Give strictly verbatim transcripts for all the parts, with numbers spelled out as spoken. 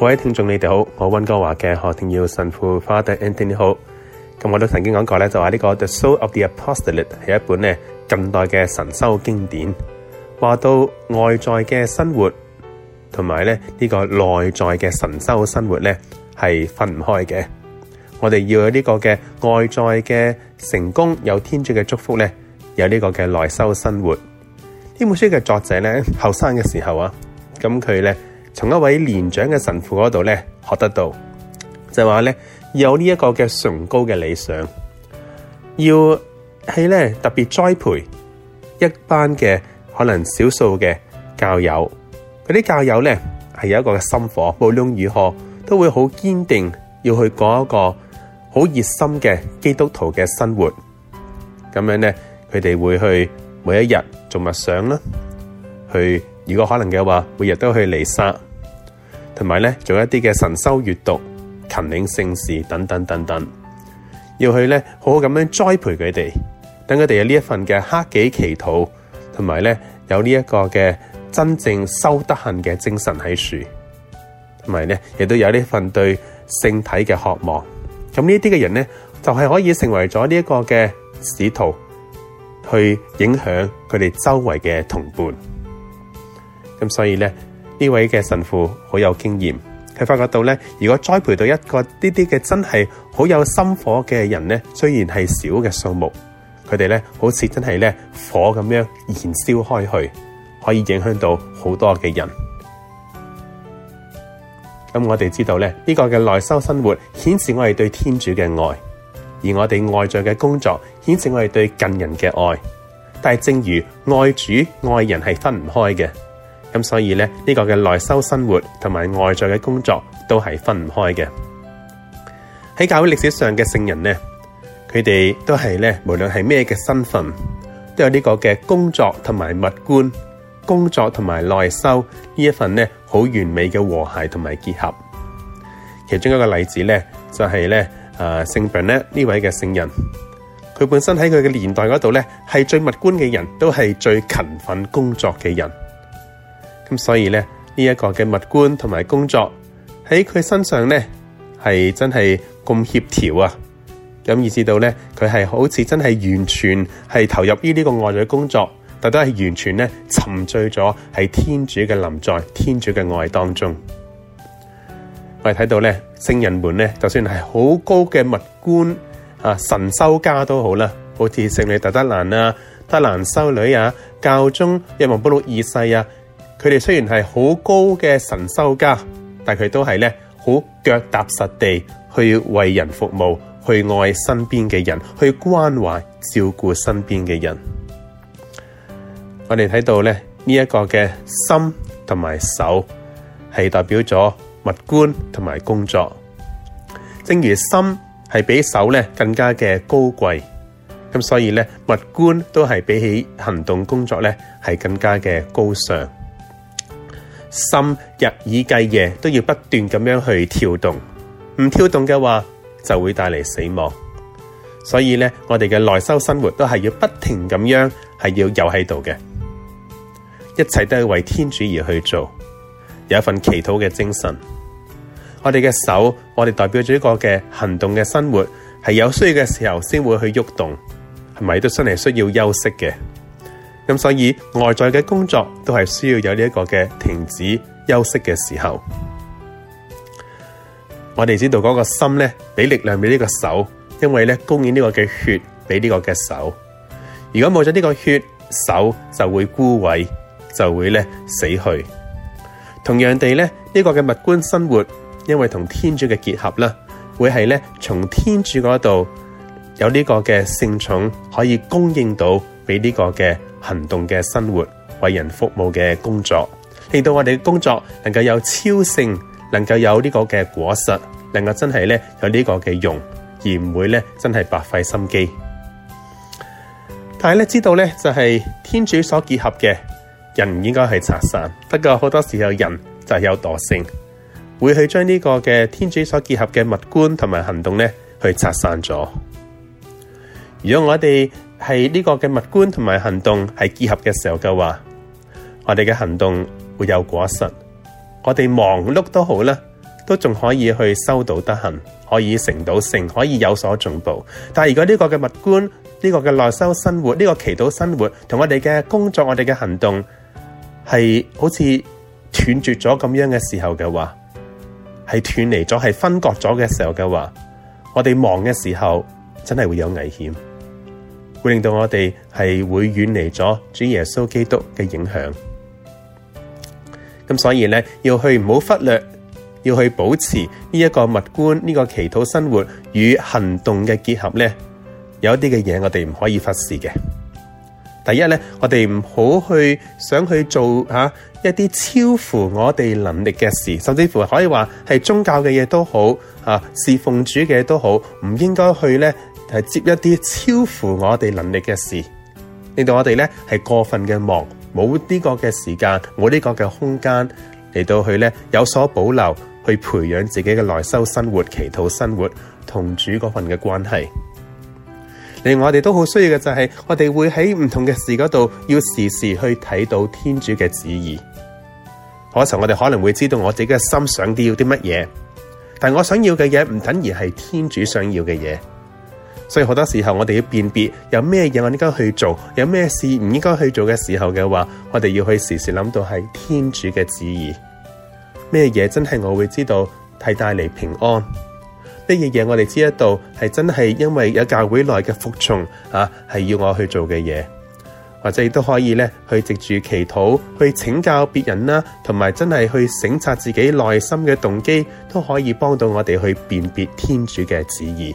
各位聽眾你哋好，我溫哥華嘅何庭耀神父 Father Anthony 好。咁我都曾經講過咧，就話呢個 The Soul of the Apostolate 係一本咧近代嘅神修經典，話到外在嘅生活同埋咧呢個內在嘅神修生活咧係分唔開嘅。我哋要有呢個嘅外在嘅成功，有天主嘅祝福咧，有呢個嘅內修生活。呢本書嘅作者咧後生嘅時候啊，咁佢咧從一位年長嘅神父嗰度咧學得到，就話咧有呢一個嘅崇高嘅理想，要係咧特別栽培一班嘅可能少數嘅教友，嗰啲教友咧係有一個嘅心火，無論如何都會好堅定要去過一個好熱心嘅基督徒嘅生活。咁樣咧佢哋會去每一日做默想啦，去如果可能嘅話每日都去彌撒，同埋咧做一啲嘅神修閱讀、勤領聖事等等等等，要去咧好好咁樣栽培佢哋，等佢哋有呢一份嘅克己祈禱，同埋咧有呢一個嘅真正修德行嘅精神喺樹，同埋咧亦都有呢份對聖體嘅渴望。咁呢啲嘅人咧就係可以成為咗呢一個嘅使徒，去影響佢哋周圍嘅同伴。咁所以咧呢位嘅神父好有經驗，佢發覺到咧，如果栽培到一個呢啲嘅真係好有心火嘅人咧，雖然係少嘅數目，佢哋咧好似真係咧火咁樣燃燒開去，可以影響到好多嘅人。咁我哋知道咧，呢個嘅內修生活顯示我哋對天主嘅愛，而我哋外在嘅工作顯示我哋對近人嘅愛。但係正如愛主愛人係分唔開嘅，咁所以咧呢個嘅內修生活同埋外在嘅工作都係分唔開嘅。喺教會歷史上嘅聖人咧，佢哋都係咧無論係咩嘅身份，都有呢個嘅工作同埋物觀、工作同埋內修呢一份咧好完美嘅和諧同埋結合。其中一個例子咧就係咧誒聖伯納呢位嘅聖人，佢本身喺佢嘅年代嗰度咧係最物觀嘅人，都係最勤奮工作嘅人。咁所以咧呢一個嘅物觀同埋工作喺佢身上咧係真係咁協調啊！咁以至到咧佢係好似真係完全係投入於呢個外在工作，但都係完全咧沉醉咗喺天主嘅臨在、天主嘅愛當中。我哋睇到咧聖人們咧，就算係好高嘅物觀啊、神修家都好啦，好似聖女大德蘭啊、德蘭修女啊、教宗若望保祿二世啊，佢哋雖然係好高嘅神修家，但佢都係咧好腳踏實地去為人服務，去愛身邊嘅人，去關懷照顧身邊嘅人。我哋睇到咧呢一個嘅心同埋手係代表咗物觀同埋工作。正如心係比手咧更加嘅高貴，咁所以咧物觀都係比起行動工作咧係更加嘅高尚。心日以繼夜都要不斷咁樣去跳動，唔跳動嘅話就會帶嚟死亡。所以咧我哋嘅內修生活都係要不停咁樣係要有喺度嘅，一切都係為天主而去做，有一份祈禱嘅精神。我哋嘅手，我哋代表咗一個嘅行動嘅生活，係有需要嘅時候先會去喐動，係咪都真係需要休息嘅？咁所以外在嘅工作都係需要有呢一個嘅停止休息嘅時候。我哋知道嗰個心咧俾力量俾呢個手，因為咧供應呢個嘅血俾呢個嘅手。如果冇咗呢個血，手就會枯萎，就會咧死去。同樣地咧，呢個嘅物觀生活，因為同天主嘅結合啦，會係咧從天主嗰度有呢個嘅聖寵可以供應到俾呢個嘅行動嘅生活，為人服務嘅工作，令到我哋嘅工作能夠有超性，能夠有呢個嘅果實，能夠真係咧有呢個嘅用，而唔會咧真係白費心機。但係咧知道咧就係天主所結合嘅，人唔應該係拆散。不過好多時候人就係有惰性，會去將呢個嘅天主所結合嘅物觀同埋行動咧去拆散咗。如果我哋係呢個嘅物觀同埋行動係結合嘅時候嘅話，我哋嘅行動會有果實。我哋忙碌都好啦， 都仲可以去修道德行，可以成到聖，可以有所進步。但係如果呢個嘅物觀，呢個嘅內修生活，呢個祈禱生活，同我哋嘅工作，我哋嘅行動係好似斷絕咗咁樣嘅時候嘅話，係斷離咗，係分割咗嘅時候嘅話，我哋忙嘅時候真係會有危險，會令到我哋係會遠離咗主耶穌基督嘅影響。咁所以咧，要去唔好忽略，要去保持呢一個物觀，呢個祈禱生活與行動嘅結合咧，有一啲嘅嘢我哋唔可以忽視嘅。第一咧，我哋唔好去想去做吓、啊、一啲超乎我哋能力嘅事，甚至乎可以話係宗教嘅嘢都好啊，侍奉主嘅嘢都好，唔應該去咧係接一啲超乎我哋能力嘅事，令到我哋咧係過分嘅忙，冇呢個嘅時間，冇呢個嘅空間嚟到去咧有所保留，去培養自己嘅內修生活、祈禱生活同主嗰份嘅關係。另外我哋都好需要嘅就係我哋會喺唔同嘅事嗰度要時時去睇到天主嘅旨意。嗰時候我哋可能會知道我自己嘅心想啲要啲乜嘢，但我想要嘅嘢唔等於係天主想要嘅嘢，所以好多時候我哋要辨別有咩嘢我應該去做，有咩事唔應該去做嘅時候嘅話，我哋要去時時諗到係天主嘅旨意。咩嘢真係我會知道係帶嚟平安，咩嘢嘢我哋知得到係真係因為有教會內嘅服從啊，係要我去做嘅嘢，或者亦都可以咧去藉住祈禱去請教別人啦，同埋真係去省察自己內心嘅動機，都可以幫到我哋去辨別天主嘅旨意。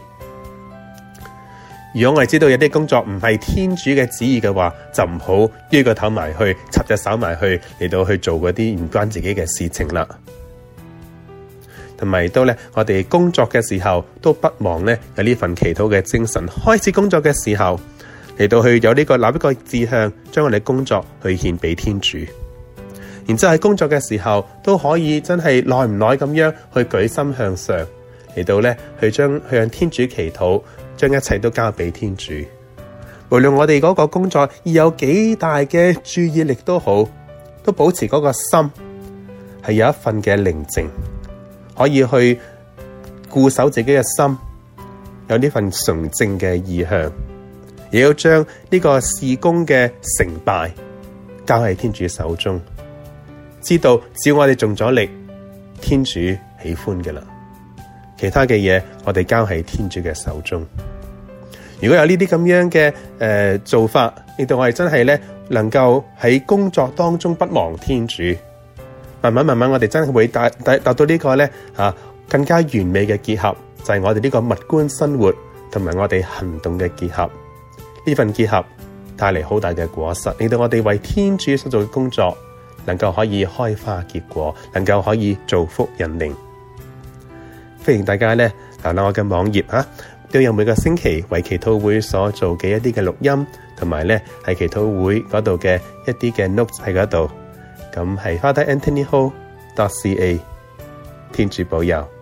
如果我哋知道有啲工作唔係天主嘅旨意嘅話，就唔好於個頭埋去，插隻手埋去嚟到去做嗰啲唔關自己嘅事情啦。同埋都咧，我哋工作嘅時候都不忘咧有呢份祈禱嘅精神。開始工作嘅時候嚟到去有呢個立一個志向，將我哋工作去獻俾天主。然之後喺工作嘅時候都可以真係耐唔耐咁樣去舉心向上，嚟到咧去將去向天主祈禱，將一切都交俾天主。無論我哋嗰個工作要有幾大嘅注意力都好，都保持嗰個心係有一份嘅寧靜，可以去固守自己嘅心，有呢份純正嘅意向，也要將呢個事工嘅成敗交喺天主手中，知道只要我哋盡咗力，天主喜歡嘅啦，其他嘅嘢我哋交喺天主嘅手中。如果有呢啲咁樣嘅誒、呃、做法，令到我哋真係咧能夠喺工作當中不忘天主，慢慢慢慢我哋真係會達達達到呢個咧啊更加完美嘅結合，就係、是、我哋呢個物觀生活同埋我哋行動嘅結合。呢份結合帶嚟好大嘅果實，令到我哋為天主所做嘅工作能夠可以開花結果，能夠可以造福人靈。歡迎大家咧瀏覽我嘅網頁啊，都有每個星期為祈禱會所做嘅一啲嘅錄音，同埋咧係祈禱會嗰度嘅一啲嘅 notes 喺嗰度。咁係 Father Anthony Ho dot C A， 天主保佑。